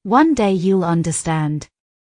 One day you'll understand.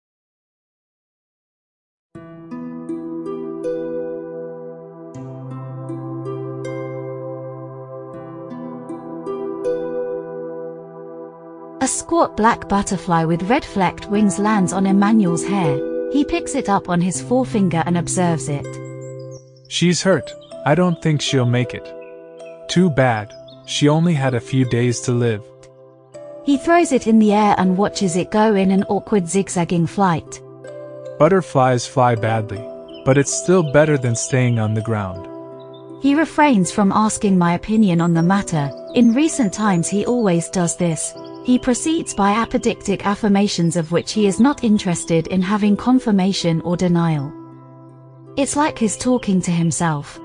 A squat black butterfly with red-flecked wings lands on Emmanuel's hair. He picks it up on his forefinger and observes it. She's hurt. I don't think she'll make it. Too bad. She only had a few days to live. He throws it in the air and watches it go in an awkward zigzagging flight. Butterflies fly badly, but it's still better than staying on the ground. He refrains from asking my opinion on the matter. In recent times he always does this. He proceeds by apodictic affirmations of which he is not interested in having confirmation or denial. It's like he's talking to himself.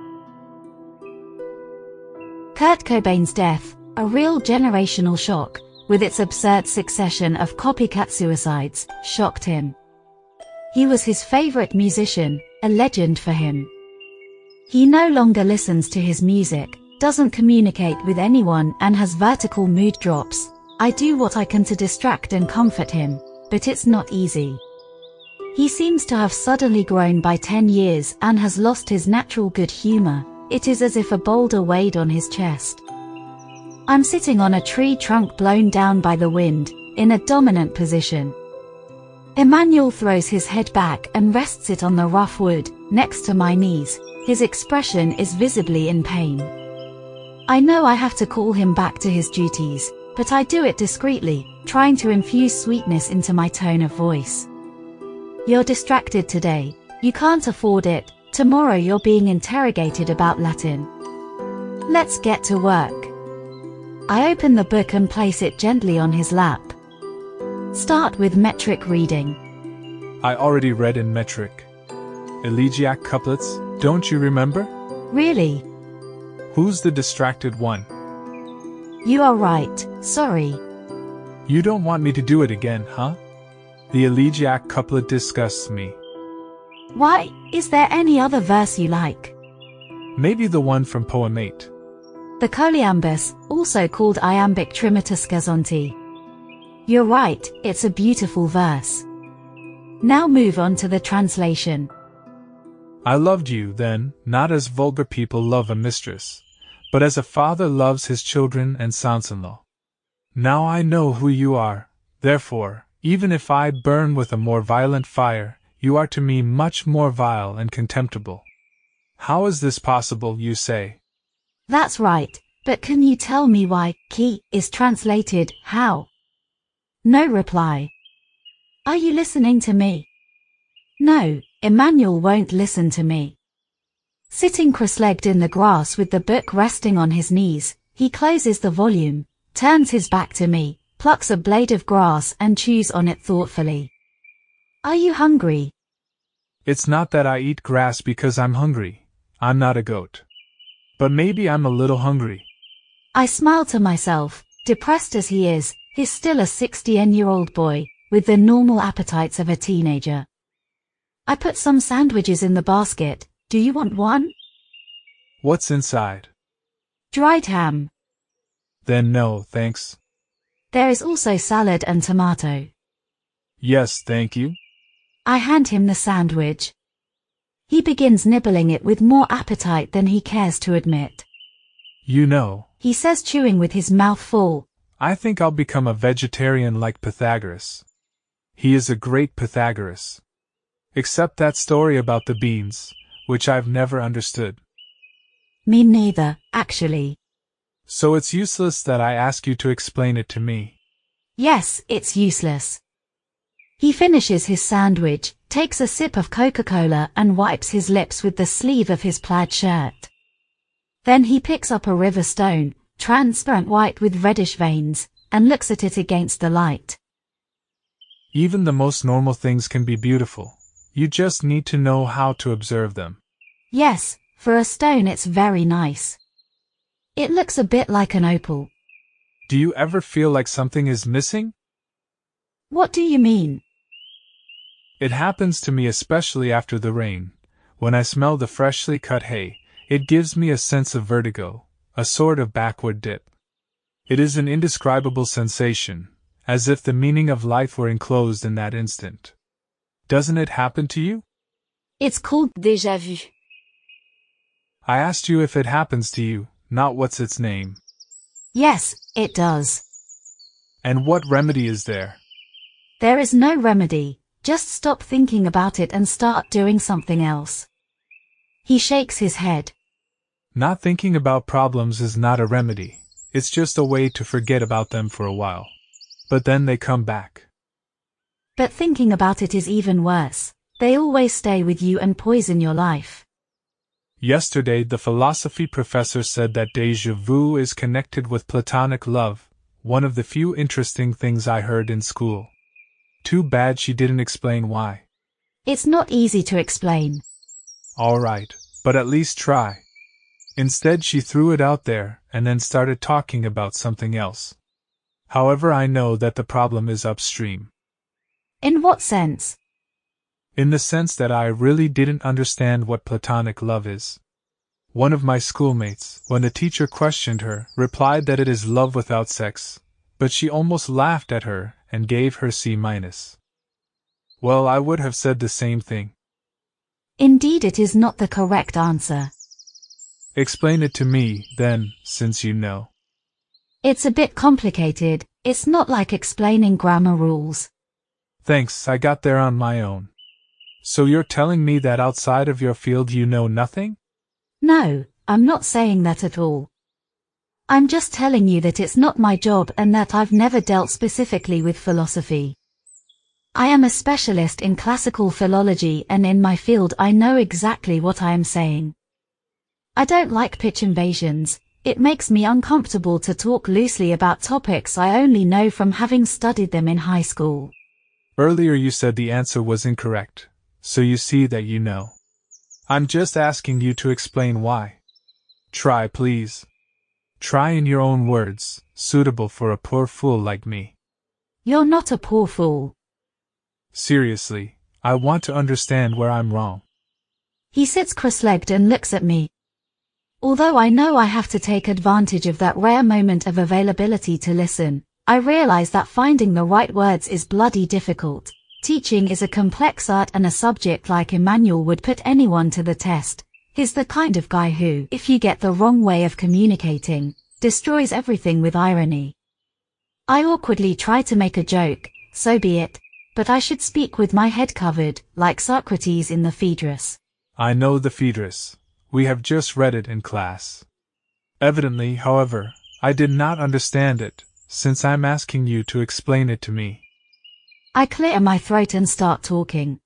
Kurt Cobain's death, a real generational shock, with its absurd succession of copycat suicides, shocked him. He was his favorite musician, a legend for him. He no longer listens to his music, doesn't communicate with anyone and has vertical mood drops. I do what I can to distract and comfort him, but it's not easy. He seems to have suddenly grown by 10 years and has lost his natural good humor. It is as if a boulder weighed on his chest. I'm sitting on a tree trunk blown down by the wind, in a dominant position. Emmanuel throws his head back and rests it on the rough wood, next to my knees. His expression is visibly in pain. I know I have to call him back to his duties, but I do it discreetly, trying to infuse sweetness into my tone of voice. You're distracted today. You can't afford it. Tomorrow you're being interrogated about Latin. Let's get to work. I open the book and place it gently on his lap. Start with metric reading. I already read in metric. Elegiac couplets, don't you remember? Really? Who's the distracted one? You are right, sorry. You don't want me to do it again, huh? The elegiac couplet disgusts me. Why, is there any other verse you like? Maybe the one from Poem 8. The Choliambus, also called Iambic Trimotus Gazonti. You're right, it's a beautiful verse. Now move on to the translation. I loved you then, not as vulgar people love a mistress, but as a father loves his children and sons-in-law. Now I know who you are, therefore, even if I burn with a more violent fire, you are to me much more vile and contemptible. How is this possible, you say? That's right, but can you tell me why "ki" is translated how? No reply. Are you listening to me? No, Emmanuel won't listen to me. Sitting cross-legged in the grass with the book resting on his knees, he closes the volume, turns his back to me, plucks a blade of grass and chews on it thoughtfully. Are you hungry? It's not that I eat grass because I'm hungry. I'm not a goat. But maybe I'm a little hungry. I smile to myself. Depressed as he is, he's still a 16-year-old boy, with the normal appetites of a teenager. I put some sandwiches in the basket. Do you want one? What's inside? Dried ham. Then no, thanks. There is also salad and tomato. Yes, thank you. I hand him the sandwich. He begins nibbling it with more appetite than he cares to admit. You know, he says, chewing with his mouth full, I think I'll become a vegetarian like Pythagoras. He is a great Pythagoras. Except that story about the beans, which I've never understood. Me neither, actually. So it's useless that I ask you to explain it to me. Yes, it's useless. He finishes his sandwich, takes a sip of Coca-Cola and wipes his lips with the sleeve of his plaid shirt. Then he picks up a river stone, transparent white with reddish veins, and looks at it against the light. Even the most normal things can be beautiful. You just need to know how to observe them. Yes, for a stone it's very nice. It looks a bit like an opal. Do you ever feel like something is missing? What do you mean? It happens to me especially after the rain. When I smell the freshly cut hay, it gives me a sense of vertigo, a sort of backward dip. It is an indescribable sensation, as if the meaning of life were enclosed in that instant. Doesn't it happen to you? It's called déjà vu. I asked you if it happens to you, not what's its name. Yes, it does. And what remedy is there? There is no remedy, just stop thinking about it and start doing something else. He shakes his head. Not thinking about problems is not a remedy, it's just a way to forget about them for a while. But then they come back. But thinking about it is even worse. They always stay with you and poison your life. Yesterday the philosophy professor said that déjà vu is connected with platonic love, one of the few interesting things I heard in school. Too bad she didn't explain why. It's not easy to explain. All right, but at least try. Instead she threw it out there and then started talking about something else. However, I know that the problem is upstream. In what sense? In the sense that I really didn't understand what platonic love is. One of my schoolmates, when the teacher questioned her, replied that it is love without sex, but she almost laughed at her and gave her C-. Well, I would have said the same thing. Indeed, it is not the correct answer. Explain it to me, then, since you know. It's a bit complicated, it's not like explaining grammar rules. Thanks, I got there on my own. So you're telling me that outside of your field you know nothing? No, I'm not saying that at all. I'm just telling you that it's not my job and that I've never dealt specifically with philosophy. I am a specialist in classical philology, and in my field I know exactly what I am saying. I don't like pitch invasions. It makes me uncomfortable to talk loosely about topics I only know from having studied them in high school. Earlier you said the answer was incorrect, so you see that you know. I'm just asking you to explain why. Try, please. Try in your own words, suitable for a poor fool like me. You're not a poor fool. Seriously, I want to understand where I'm wrong. He sits cross-legged and looks at me. Although I know I have to take advantage of that rare moment of availability to listen, I realize that finding the right words is bloody difficult. Teaching is a complex art, and a subject like Emmanuel would put anyone to the test. He's the kind of guy who, if you get the wrong way of communicating, destroys everything with irony. I awkwardly try to make a joke, so be it, but I should speak with my head covered, like Socrates in the Phaedrus. I know the Phaedrus. We have just read it in class. Evidently, however, I did not understand it, since I'm asking you to explain it to me. I clear my throat and start talking.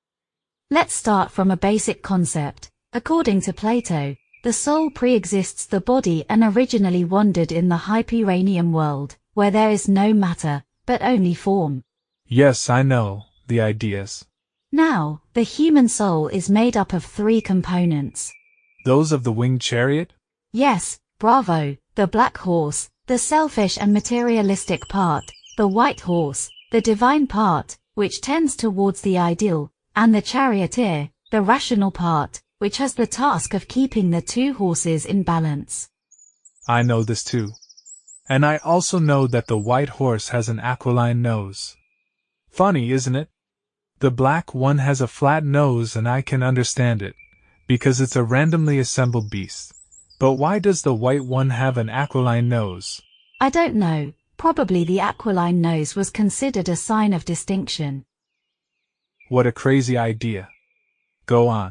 Let's start from a basic concept. According to Plato, the soul pre-exists the body and originally wandered in the Hyperanian world, where there is no matter, but only form. Yes, I know, the ideas. Now, the human soul is made up of 3 components. Those of the winged chariot? Yes, bravo, the black horse, the selfish and materialistic part, the white horse, the divine part, which tends towards the ideal, and the charioteer, the rational part, which has the task of keeping the 2 horses in balance. I know this too. And I also know that the white horse has an aquiline nose. Funny, isn't it? The black one has a flat nose, and I can understand it, because it's a randomly assembled beast. But why does the white one have an aquiline nose? I don't know. Probably the aquiline nose was considered a sign of distinction. What a crazy idea. Go on.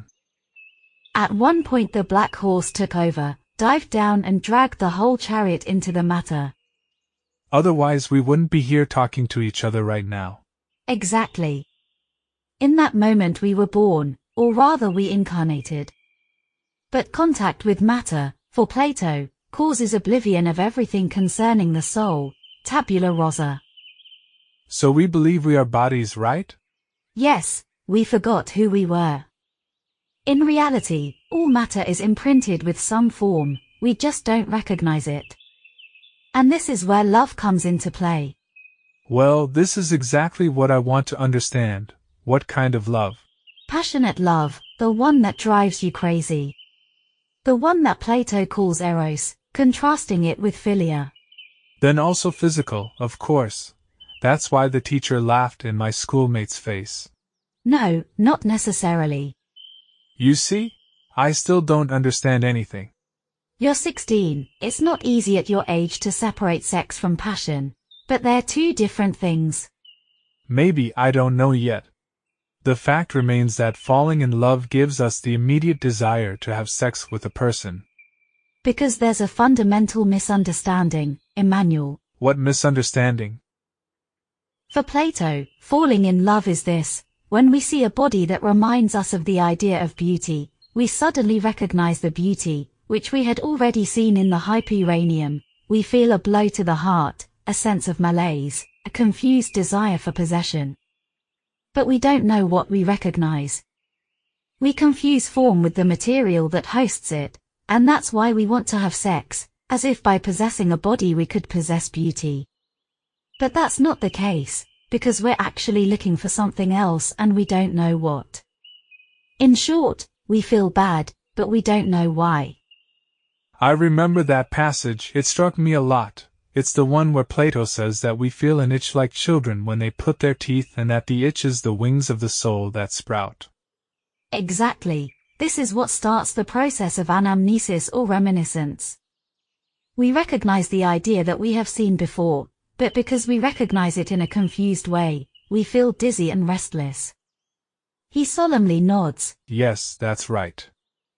At one point the black horse took over, dived down and dragged the whole chariot into the matter. Otherwise we wouldn't be here talking to each other right now. Exactly. In that moment we were born, or rather we incarnated. But contact with matter, for Plato, causes oblivion of everything concerning the soul, tabula rasa. So we believe we are bodies, right? Yes, we forgot who we were. In reality, all matter is imprinted with some form, we just don't recognize it. And this is where love comes into play. Well, this is exactly what I want to understand. What kind of love? Passionate love, the one that drives you crazy. The one that Plato calls eros, contrasting it with philia. Then also physical, of course. That's why the teacher laughed in my schoolmate's face. No, not necessarily. You see? I still don't understand anything. You're 16, it's not easy at your age to separate sex from passion. But they're two different things. Maybe I don't know yet. The fact remains that falling in love gives us the immediate desire to have sex with a person. Because there's a fundamental misunderstanding, Emmanuel. What misunderstanding? For Plato, falling in love is this: when we see a body that reminds us of the idea of beauty, we suddenly recognize the beauty, which we had already seen in the Hyperanium. We feel a blow to the heart, a sense of malaise, a confused desire for possession. But we don't know what we recognize. We confuse form with the material that hosts it, and that's why we want to have sex, as if by possessing a body we could possess beauty. But that's not the case, because we're actually looking for something else and we don't know what. In short, we feel bad, but we don't know why. I remember that passage, it struck me a lot. It's the one where Plato says that we feel an itch like children when they put their teeth and that the itch is the wings of the soul that sprout. Exactly. This is what starts the process of anamnesis or reminiscence. We recognize the idea that we have seen before, but because we recognize it in a confused way, we feel dizzy and restless. He solemnly nods. Yes, that's right.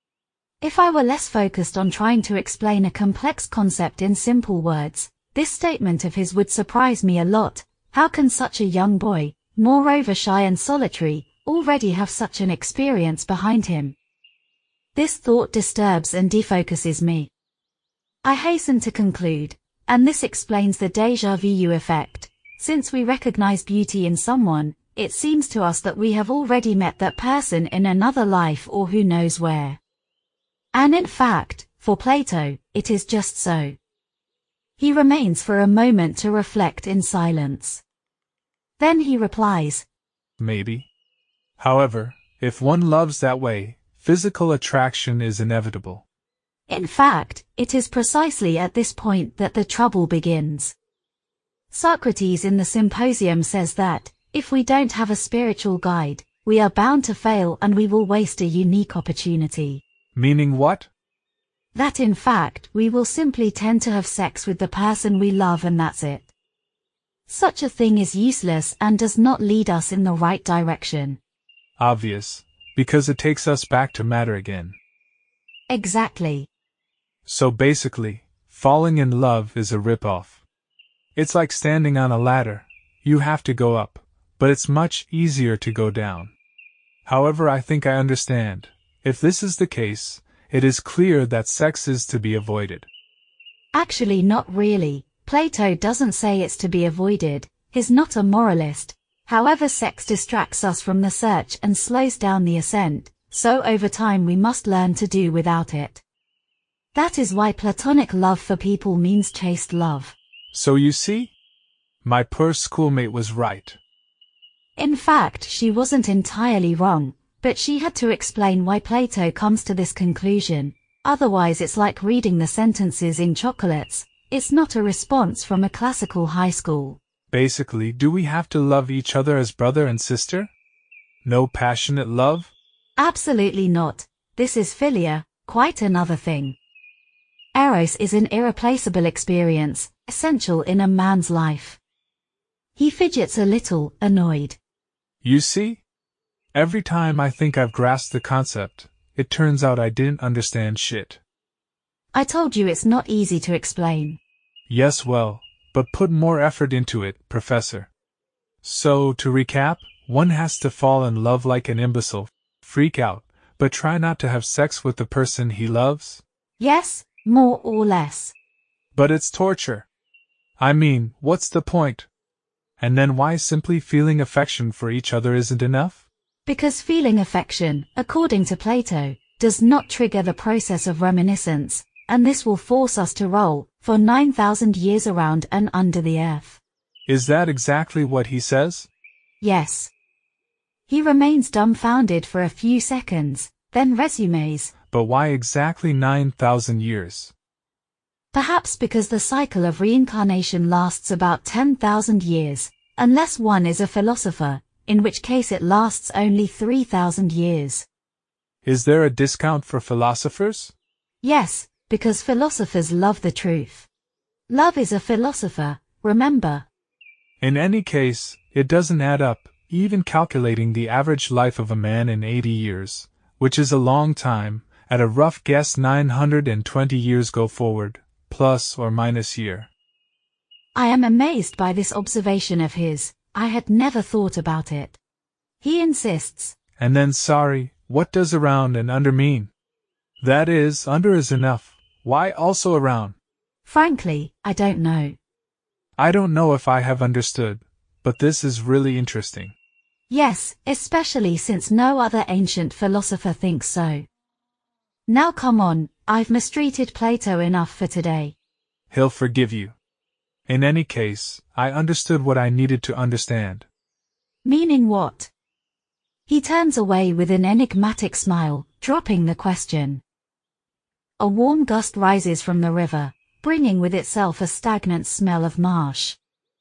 If I were less focused on trying to explain a complex concept in simple words, this statement of his would surprise me a lot. How can such a young boy, moreover shy and solitary, already have such an experience behind him? This thought disturbs and defocuses me. I hasten to conclude, and this explains the déjà vu effect. Since we recognize beauty in someone, it seems to us that we have already met that person in another life or who knows where. And in fact, for Plato, it is just so. He remains for a moment to reflect in silence. Then he replies, Maybe. However, if one loves that way, physical attraction is inevitable. In fact, it is precisely at this point that the trouble begins. Socrates in the Symposium says that, if we don't have a spiritual guide, we are bound to fail and we will waste a unique opportunity. Meaning what? That in fact, we will simply tend to have sex with the person we love and that's it. Such a thing is useless and does not lead us in the right direction. Obvious, because it takes us back to matter again. Exactly. So basically, falling in love is a rip-off. It's like standing on a ladder. You have to go up, but it's much easier to go down. However, I think I understand. If this is the case, it is clear that sex is to be avoided. Actually, not really. Plato doesn't say it's to be avoided. He's not a moralist. However, sex distracts us from the search and slows down the ascent, so over time we must learn to do without it. That is why platonic love for people means chaste love. So you see? My poor schoolmate was right. In fact, she wasn't entirely wrong, but she had to explain why Plato comes to this conclusion. Otherwise it's like reading the sentences in chocolates. It's not a response from a classical high school. Basically, do we have to love each other as brother and sister? No passionate love? Absolutely not. This is philia, quite another thing. Eros is an irreplaceable experience, essential in a man's life. He fidgets a little, annoyed. You see? Every time I think I've grasped the concept, it turns out I didn't understand shit. I told you it's not easy to explain. Yes, well, but put more effort into it, Professor. So, to recap, one has to fall in love like an imbecile, freak out, but try not to have sex with the person he loves? Yes, more or less. But it's torture. I mean, what's the point? And then why simply feeling affection for each other isn't enough? Because feeling affection, according to Plato, does not trigger the process of reminiscence, and this will force us to roll for 9,000 years around and under the earth. Is that exactly what he says? Yes. He remains dumbfounded for a few seconds, then resumes. But why exactly 9,000 years? Perhaps because the cycle of reincarnation lasts about 10,000 years. Unless one is a philosopher, in which case it lasts only 3,000 years. Is there a discount for philosophers? Yes, because philosophers love the truth. Love is a philosopher, remember. In any case, it doesn't add up, even calculating the average life of a man in 80 years, which is a long time, at a rough guess 920 years go forward, plus or minus year. I am amazed by this observation of his. I had never thought about it. He insists. And then sorry, what does around and under mean? That is, under is enough. Why also around? Frankly, I don't know. I don't know if I have understood, but this is really interesting. Yes, especially since no other ancient philosopher thinks so. Now come on, I've mistreated Plato enough for today. He'll forgive you. In any case, I understood what I needed to understand. Meaning what? He turns away with an enigmatic smile, dropping the question. A warm gust rises from the river, bringing with itself a stagnant smell of marsh.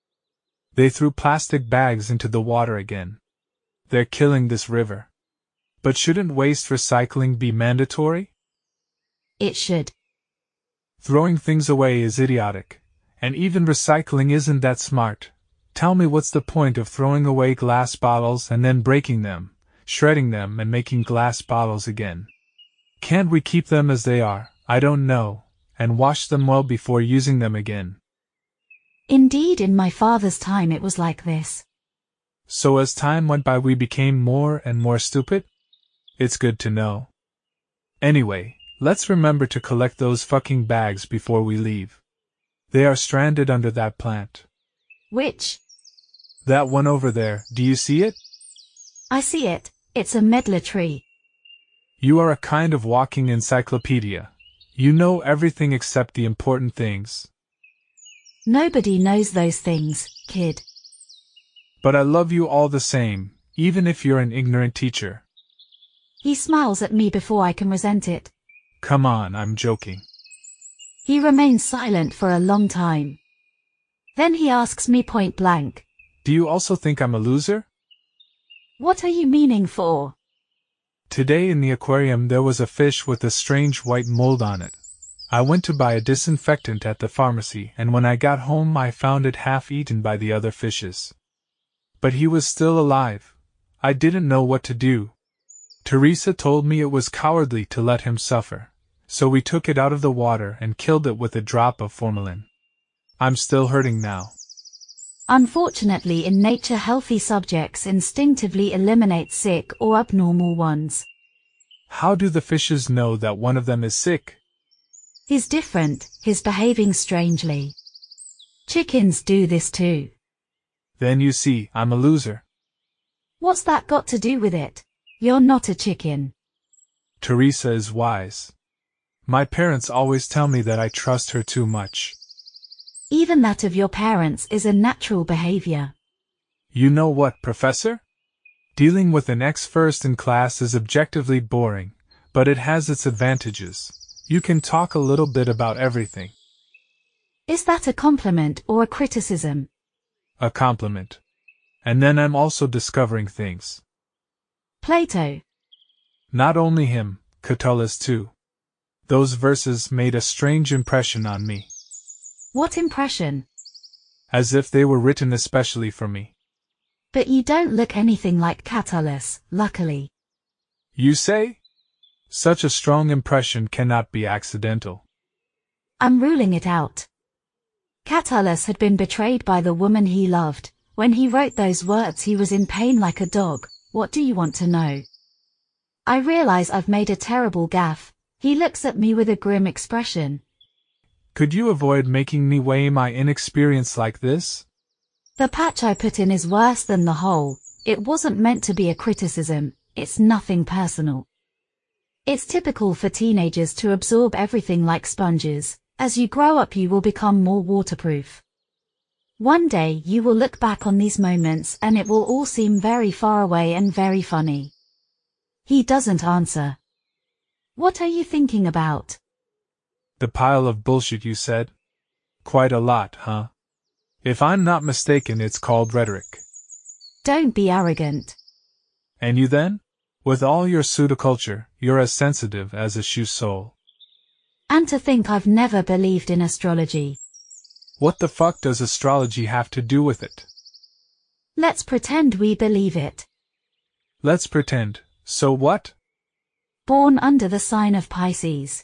They threw plastic bags into the water again. They're killing this river. But shouldn't waste recycling be mandatory? It should. Throwing things away is idiotic. And even recycling isn't that smart. Tell me what's the point of throwing away glass bottles and then breaking them, shredding them and making glass bottles again? Can't we keep them as they are, I don't know, and wash them well before using them again? Indeed, in my father's time it was like this. So as time went by we became more and more stupid? It's good to know. Anyway, let's remember to collect those fucking bags before we leave. They are stranded under that plant. Which? That one over there, do you see it? I see it, it's a medlar tree. You are a kind of walking encyclopedia. You know everything except the important things. Nobody knows those things, kid. But I love you all the same, even if you're an ignorant teacher. He smiles at me before I can resent it. Come on, I'm joking. He remains silent for a long time. Then he asks me point blank. Do you also think I'm a loser? What are you meaning for? Today in the aquarium there was a fish with a strange white mold on it. I went to buy a disinfectant at the pharmacy and when I got home I found it half eaten by the other fishes. But he was still alive. I didn't know what to do. Teresa told me it was cowardly to let him suffer. So we took it out of the water and killed it with a drop of formalin. I'm still hurting now. Unfortunately, in nature healthy subjects instinctively eliminate sick or abnormal ones. How do the fishes know that one of them is sick? He's different, he's behaving strangely. Chickens do this too. Then you see, I'm a loser. What's that got to do with it? You're not a chicken. Teresa is wise. My parents always tell me that I trust her too much. Even that of your parents is a natural behavior. You know what, Professor? Dealing with an ex first in class is objectively boring, but it has its advantages. You can talk a little bit about everything. Is that a compliment or a criticism? A compliment. And then I'm also discovering things. Plato. Not only him, Catullus too. Those verses made a strange impression on me. What impression? As if they were written especially for me. But you don't look anything like Catullus, luckily. You say? Such a strong impression cannot be accidental. I'm ruling it out. Catullus had been betrayed by the woman he loved. When he wrote those words he was in pain like a dog. What do you want to know? I realize I've made a terrible gaffe. He looks at me with a grim expression. Could you avoid making me weigh my inexperience like this? The patch I put in is worse than the hole. It wasn't meant to be a criticism, it's nothing personal. It's typical for teenagers to absorb everything like sponges. As you grow up you will become more waterproof. One day you will look back on these moments and it will all seem very far away and very funny. He doesn't answer. What are you thinking about? The pile of bullshit you said? Quite a lot, huh? If I'm not mistaken, it's called rhetoric. Don't be arrogant. And you then? With all your pseudoculture, you're as sensitive as a shoe sole. And to think I've never believed in astrology. What the fuck does astrology have to do with it? Let's pretend we believe it. Let's pretend. So what? Born under the sign of Pisces.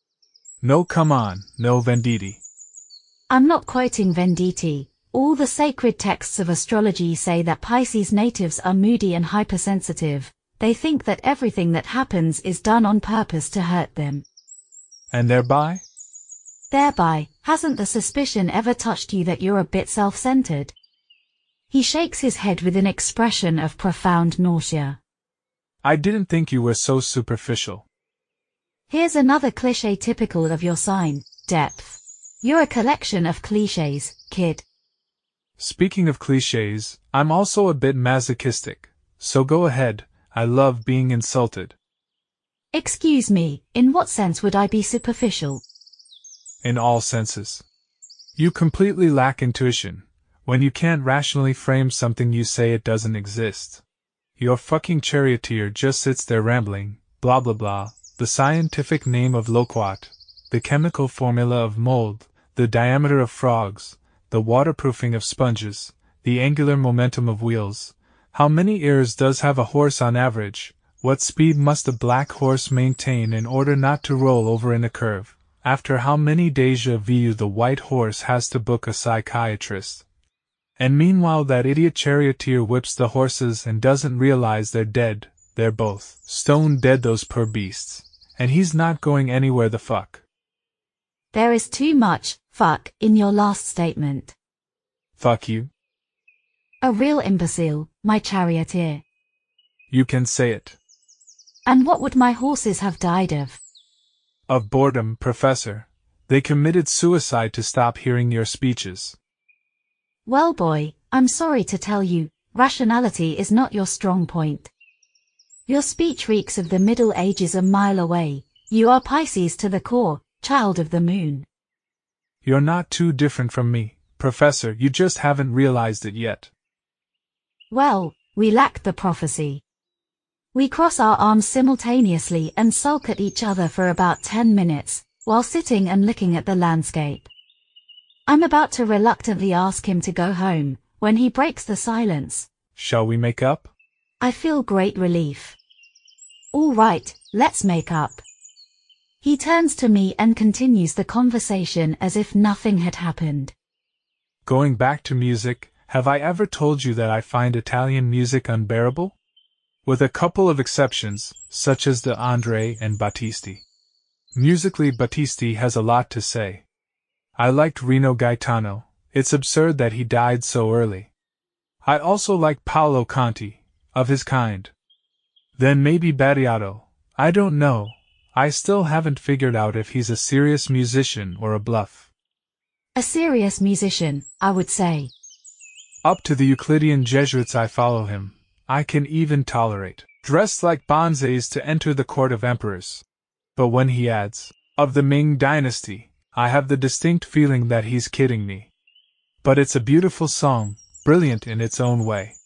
No, come on, no Venditti. I'm not quoting Venditti. All the sacred texts of astrology say that Pisces natives are moody and hypersensitive. They think that everything that happens is done on purpose to hurt them. And thereby? Thereby, hasn't the suspicion ever touched you that you're a bit self-centered? He shakes his head with an expression of profound nausea. I didn't think you were so superficial. Here's another cliché typical of your sign, depth. You're a collection of clichés, kid. Speaking of clichés, I'm also a bit masochistic, so go ahead, I love being insulted. Excuse me, in what sense would I be superficial? In all senses. You completely lack intuition. When you can't rationally frame something, you say it doesn't exist. Your fucking charioteer just sits there rambling, blah blah blah, the scientific name of loquat, the chemical formula of mold, the diameter of frogs, the waterproofing of sponges, the angular momentum of wheels. How many ears does have a horse on average? What speed must a black horse maintain in order not to roll over in a curve? After how many déjà vu the white horse has to book a psychiatrist? And meanwhile that idiot charioteer whips the horses and doesn't realize they're dead. They're both stone dead, those poor beasts. And he's not going anywhere, the fuck. There is too much fuck in your last statement. Fuck you. A real imbecile, my charioteer. You can say it. And what would my horses have died of? Of boredom, Professor. They committed suicide to stop hearing your speeches. Well, boy, I'm sorry to tell you, rationality is not your strong point. Your speech reeks of the Middle Ages a mile away. You are Pisces to the core, child of the moon. You're not too different from me, Professor, you just haven't realized it yet. Well, we lack the prophecy. We cross our arms simultaneously and sulk at each other for about 10 minutes, while sitting and looking at the landscape. I'm about to reluctantly ask him to go home, when he breaks the silence. Shall we make up? I feel great relief. All right, let's make up. He turns to me and continues the conversation as if nothing had happened. Going back to music, have I ever told you that I find Italian music unbearable? With a couple of exceptions, such as the André and Battisti. Musically, Battisti has a lot to say. I liked Rino Gaetano. It's absurd that he died so early. I also like Paolo Conti, of his kind. Then maybe Battiato. I don't know. I still haven't figured out if he's a serious musician or a bluff. A serious musician, I would say. Up to the Euclidean Jesuits I follow him. I can even tolerate, dressed like bonzes to enter the court of emperors. But when he adds, of the Ming dynasty, I have the distinct feeling that he's kidding me. But it's a beautiful song, brilliant in its own way.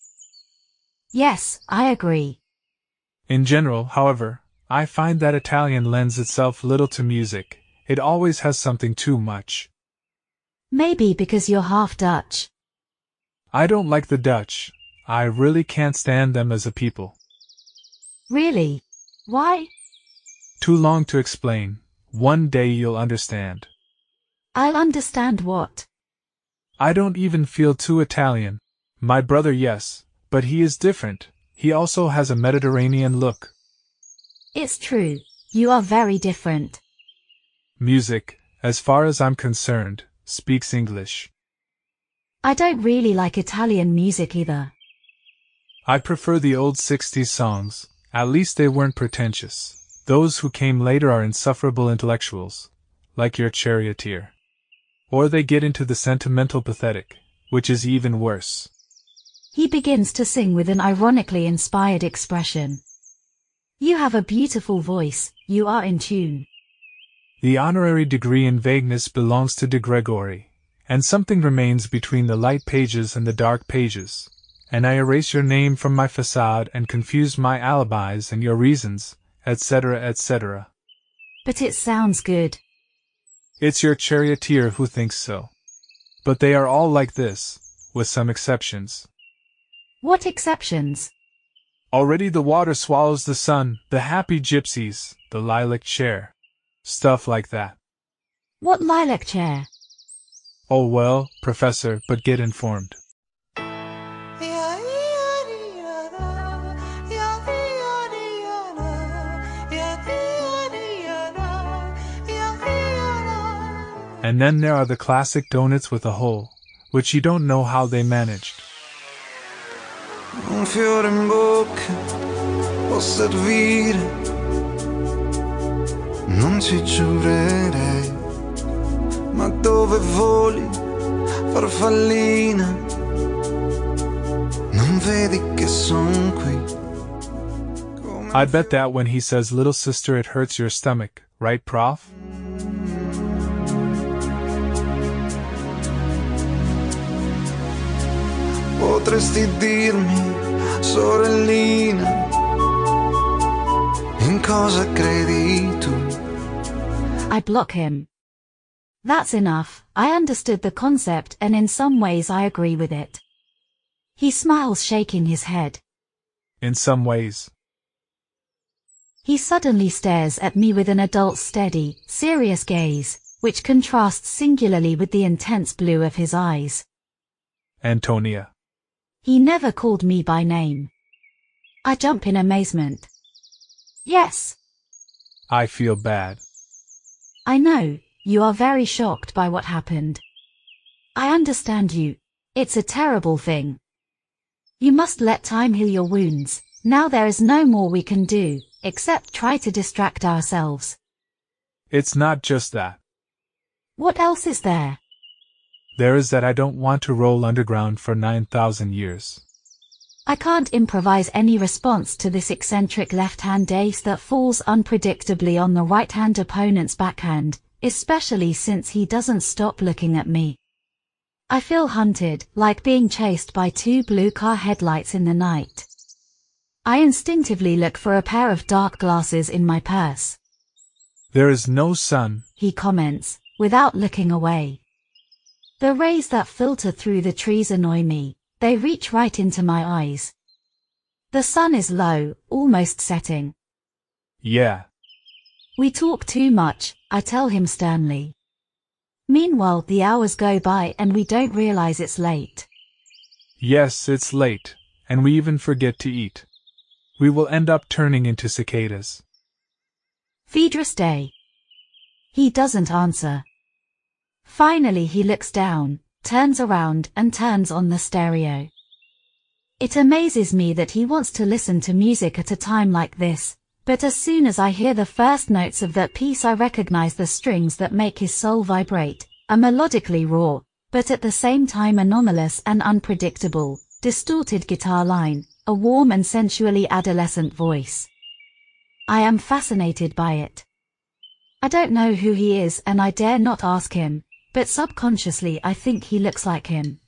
Yes, I agree. In general, however, I find that Italian lends itself little to music. It always has something too much. Maybe because you're half Dutch. I don't like the Dutch. I really can't stand them as a people. Really? Why? Too long to explain. One day you'll understand. I'll understand what? I don't even feel too Italian. My brother, yes, but he is different. He also has a Mediterranean look. It's true. You are very different. Music, as far as I'm concerned, speaks English. I don't really like Italian music either. I prefer the old 60s songs. At least they weren't pretentious. Those who came later are insufferable intellectuals, like your charioteer. Or they get into the sentimental pathetic, which is even worse. He begins to sing with an ironically inspired expression. You have a beautiful voice, you are in tune. The honorary degree in vagueness belongs to de Gregory, and something remains between the light pages and the dark pages, and I erase your name from my facade and confuse my alibis and your reasons, etc., etc. But it sounds good. It's your charioteer who thinks so. But they are all like this, with some exceptions. What exceptions? Already the water swallows the sun, the happy gypsies, the lilac chair. Stuff like that. What lilac chair? Oh well, Professor, but get informed. And then there are the classic donuts with a hole, which you don't know how they managed. Un fiore in bocca può servire, non ci giurerei, ma dove voli, farfallina, non vedi che son qui? I bet that when he says little sister it hurts your stomach, right, Prof? Potresti dirmi, sorellina, in cosa credi tu? I block him. That's enough. I understood the concept and in some ways I agree with it. He smiles, shaking his head. In some ways. He suddenly stares at me with an adult's steady, serious gaze, which contrasts singularly with the intense blue of his eyes. Antonia. He never called me by name. I jump in amazement. Yes. I feel bad. I know, you are very shocked by what happened. I understand you. It's a terrible thing. You must let time heal your wounds. Now there is no more we can do, except try to distract ourselves. It's not just that. What else is there? There is that I don't want to roll underground for 9,000 years. I can't improvise any response to this eccentric left-hand ace that falls unpredictably on the right-hand opponent's backhand, especially since he doesn't stop looking at me. I feel hunted, like being chased by two blue car headlights in the night. I instinctively look for a pair of dark glasses in my purse. There is no sun, he comments, without looking away. The rays that filter through the trees annoy me. They reach right into my eyes. The sun is low, almost setting. Yeah. We talk too much, I tell him sternly. Meanwhile, the hours go by and we don't realize it's late. Yes, it's late, and we even forget to eat. We will end up turning into cicadas. Phaedrus Day. He doesn't answer. Finally he looks down, turns around and turns on the stereo. It amazes me that he wants to listen to music at a time like this, but as soon as I hear the first notes of that piece I recognize the strings that make his soul vibrate, a melodically raw, but at the same time anomalous and unpredictable, distorted guitar line, a warm and sensually adolescent voice. I am fascinated by it. I don't know who he is and I dare not ask him, but subconsciously I think he looks like him.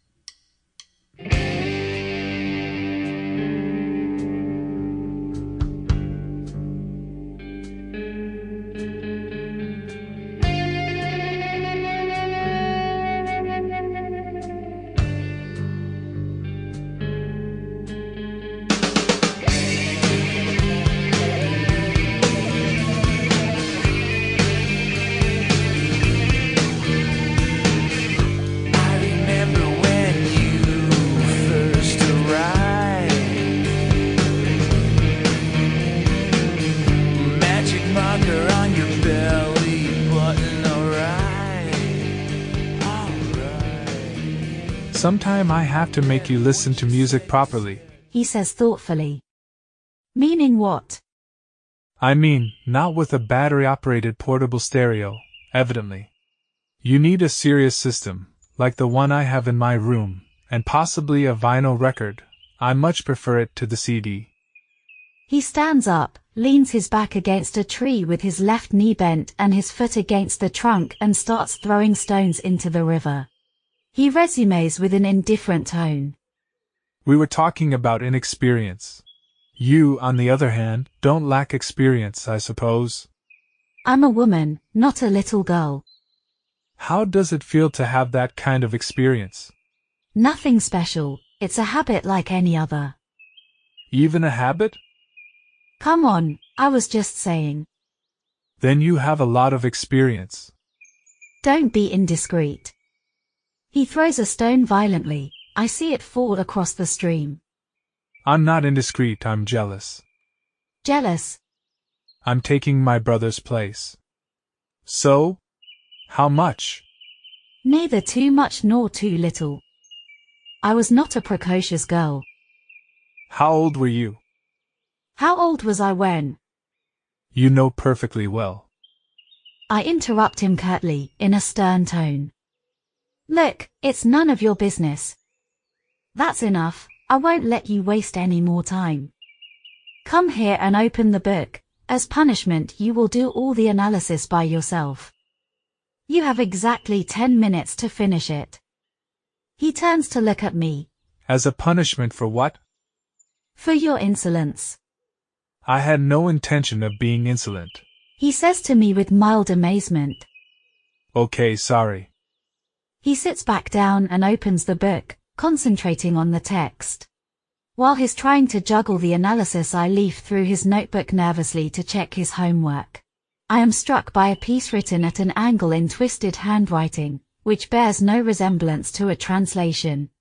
Sometime I have to make you listen to music properly, he says thoughtfully. Meaning what? I mean, not with a battery-operated portable stereo, evidently. You need a serious system, like the one I have in my room, and possibly a vinyl record. I much prefer it to the CD. He stands up, leans his back against a tree with his left knee bent and his foot against the trunk and starts throwing stones into the river. He resumes with an indifferent tone. We were talking about inexperience. You, on the other hand, don't lack experience, I suppose. I'm a woman, not a little girl. How does it feel to have that kind of experience? Nothing special, it's a habit like any other. Even a habit? Come on, I was just saying. Then you have a lot of experience. Don't be indiscreet. He throws a stone violently. I see it fall across the stream. I'm not indiscreet, I'm jealous. Jealous? I'm taking my brother's place. So? How much? Neither too much nor too little. I was not a precocious girl. How old were you? How old was I when? You know perfectly well. I interrupt him curtly, in a stern tone. Look, it's none of your business. That's enough, I won't let you waste any more time. Come here and open the book. As punishment, you will do all the analysis by yourself. You have exactly 10 minutes to finish it. He turns to look at me. As a punishment for what? For your insolence. I had no intention of being insolent. He says to me with mild amazement. Okay, sorry. He sits back down and opens the book, concentrating on the text. While he's trying to juggle the analysis, I leaf through his notebook nervously to check his homework. I am struck by a piece written at an angle in twisted handwriting, which bears no resemblance to a translation.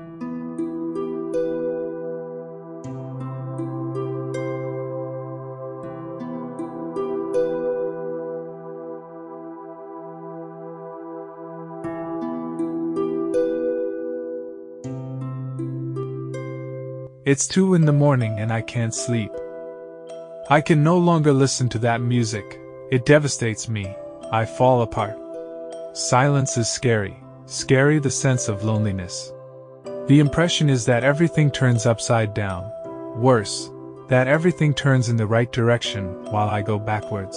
It's 2 in the morning and I can't sleep. I can no longer listen to that music. It devastates me. I fall apart. Silence is scary. Scary the sense of loneliness. The impression is that everything turns upside down. Worse, that everything turns in the right direction while I go backwards.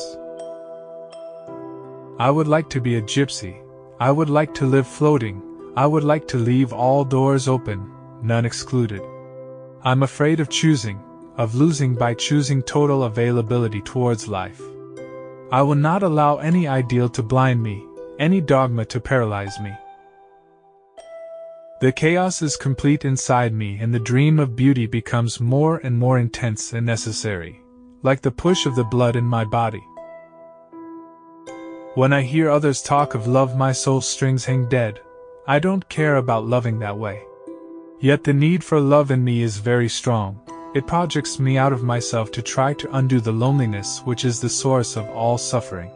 I would like to be a gypsy. I would like to live floating. I would like to leave all doors open, none excluded. I'm afraid of choosing, of losing by choosing total availability towards life. I will not allow any ideal to blind me, any dogma to paralyze me. The chaos is complete inside me and the dream of beauty becomes more and more intense and necessary, like the push of the blood in my body. When I hear others talk of love, my soul strings hang dead. I don't care about loving that way. Yet the need for love in me is very strong. It projects me out of myself to try to undo the loneliness which is the source of all suffering.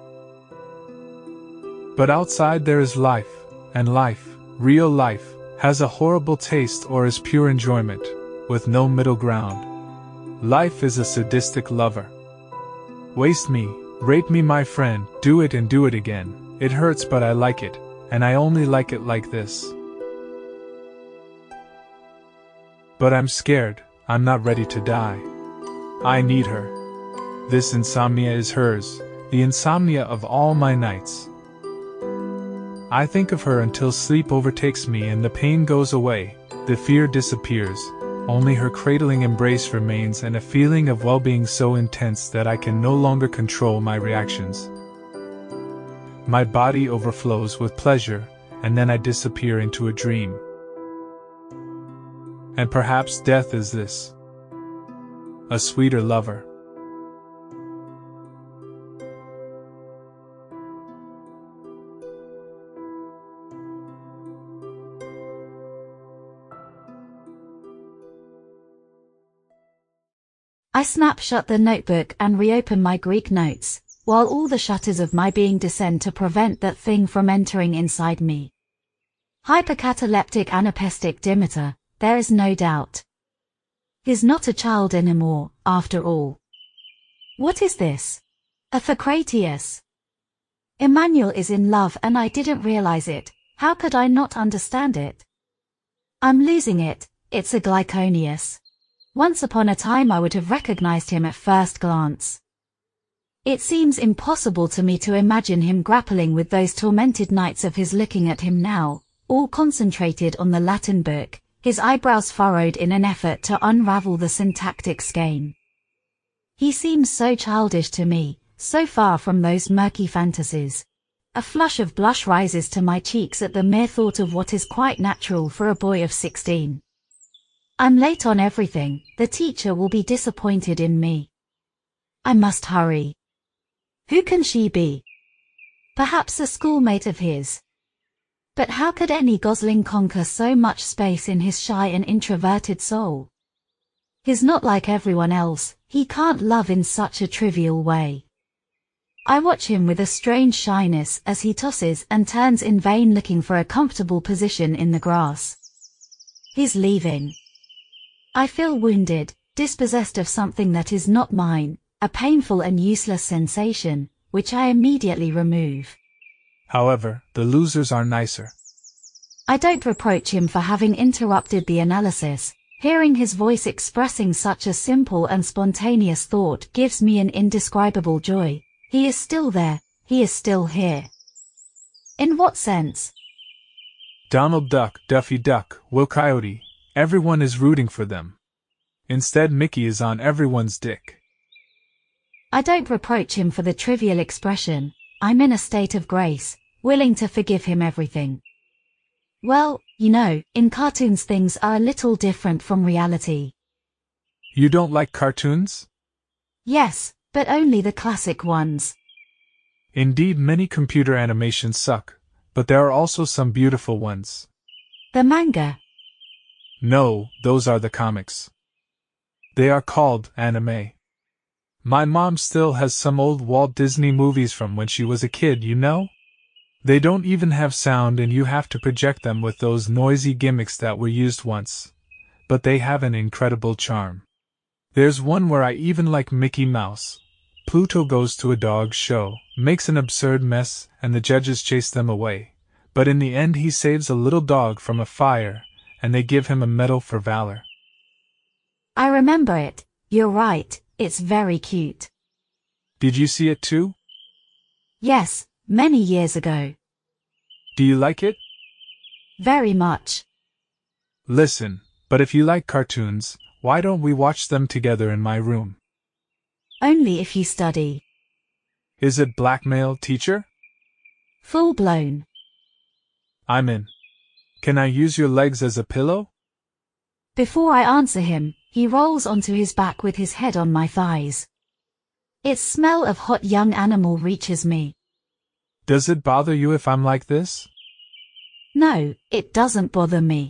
But outside there is life, and life, real life, has a horrible taste or is pure enjoyment, with no middle ground. Life is a sadistic lover. Waste me, rape me, my friend, do it and do it again. It hurts but I like it, and I only like it like this. But I'm scared, I'm not ready to die. I need her. This insomnia is hers, the insomnia of all my nights. I think of her until sleep overtakes me and the pain goes away, the fear disappears, only her cradling embrace remains and a feeling of well-being so intense that I can no longer control my reactions. My body overflows with pleasure, and then I disappear into a dream. And perhaps death is this. A sweeter lover. I snap shut the notebook and reopen my Greek notes, while all the shutters of my being descend to prevent that thing from entering inside me. Hypercataleptic anapestic Demeter, there is no doubt. He's not a child anymore, after all. What is this? A Thocratius. Emmanuel is in love and I didn't realize it. How could I not understand it? I'm losing it, it's a Glyconius. Once upon a time I would have recognized him at first glance. It seems impossible to me to imagine him grappling with those tormented nights of his looking at him now, all concentrated on the Latin book, his eyebrows furrowed in an effort to unravel the syntactic skein. He seems so childish to me, so far from those murky fantasies. A flush of blush rises to my cheeks at the mere thought of what is quite natural for a boy of 16. I'm late on everything, the teacher will be disappointed in me. I must hurry. Who can she be? Perhaps a schoolmate of his. But how could any gosling conquer so much space in his shy and introverted soul? He's not like everyone else, he can't love in such a trivial way. I watch him with a strange shyness as he tosses and turns in vain looking for a comfortable position in the grass. He's leaving. I feel wounded, dispossessed of something that is not mine, a painful and useless sensation, which I immediately remove. However, the losers are nicer. I don't reproach him for having interrupted the analysis. Hearing his voice expressing such a simple and spontaneous thought gives me an indescribable joy. He is still there, he is still here. In what sense? Donald Duck, Daffy Duck, Will Coyote, everyone is rooting for them. Instead, Mickey is on everyone's dick. I don't reproach him for the trivial expression. I'm in a state of grace, willing to forgive him everything. Well, you know, in cartoons things are a little different from reality. You don't like cartoons? Yes, but only the classic ones. Indeed, many computer animations suck, but there are also some beautiful ones. The manga? No, those are the comics. They are called anime. My mom still has some old Walt Disney movies from when she was a kid, you know? They don't even have sound and you have to project them with those noisy gimmicks that were used once. But they have an incredible charm. There's one where I even like Mickey Mouse. Pluto goes to a dog show, makes an absurd mess, and the judges chase them away. But in the end he saves a little dog from a fire, and they give him a medal for valor. I remember it, you're right, it's very cute. Did you see it too? Yes, many years ago. Do you like it? Very much. Listen, but if you like cartoons, why don't we watch them together in my room? Only if you study. Is it blackmail, teacher? Full blown. I'm in. Can I use your legs as a pillow? Before I answer him, he rolls onto his back with his head on my thighs. Its smell of hot young animal reaches me. Does it bother you if I'm like this? No, it doesn't bother me.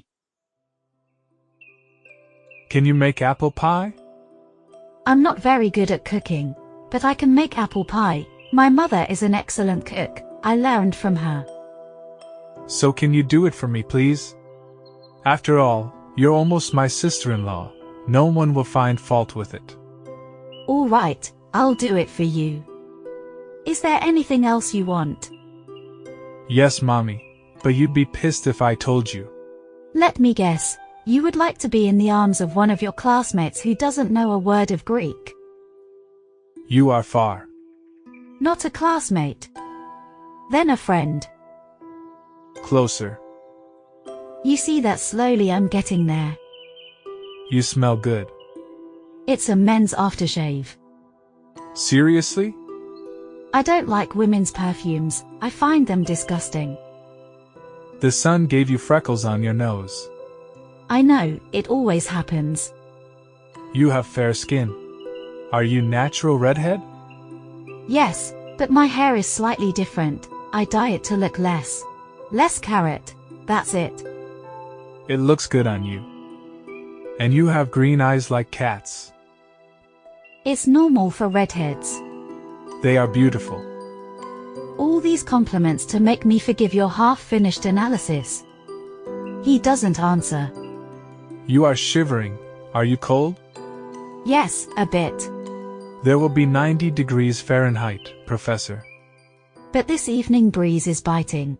Can you make apple pie? I'm not very good at cooking, but I can make apple pie. My mother is an excellent cook, I learned from her. So can you do it for me, please? After all, you're almost my sister-in-law. No one will find fault with it. All right, I'll do it for you. Is there anything else you want? Yes, Mommy, but you'd be pissed if I told you. Let me guess. You would like to be in the arms of one of your classmates who doesn't know a word of Greek. You are far. Not a classmate. Then a friend. Closer. You see that slowly I'm getting there. You smell good. It's a men's aftershave. Seriously? I don't like women's perfumes, I find them disgusting. The sun gave you freckles on your nose. I know, it always happens. You have fair skin. Are you natural redhead? Yes, but my hair is slightly different. I dye it to look less carrot, that's it. It looks good on you. And you have green eyes like cats. It's normal for redheads. They are beautiful. All these compliments to make me forgive your half-finished analysis. He doesn't answer. You are shivering. Are you cold? Yes, a bit. There will be 90 degrees Fahrenheit, Professor. But this evening breeze is biting.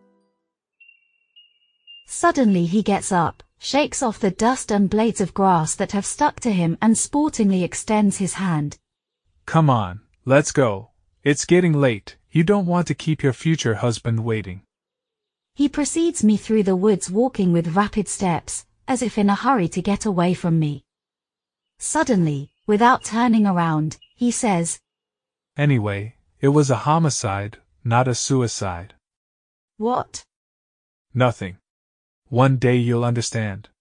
Suddenly he gets up, shakes off the dust and blades of grass that have stuck to him and sportingly extends his hand. Come on, let's go. It's getting late. You don't want to keep your future husband waiting. He precedes me through the woods walking with rapid steps, as if in a hurry to get away from me. Suddenly, without turning around, he says, Anyway, it was a homicide, not a suicide. "What?" Nothing. One day you'll understand.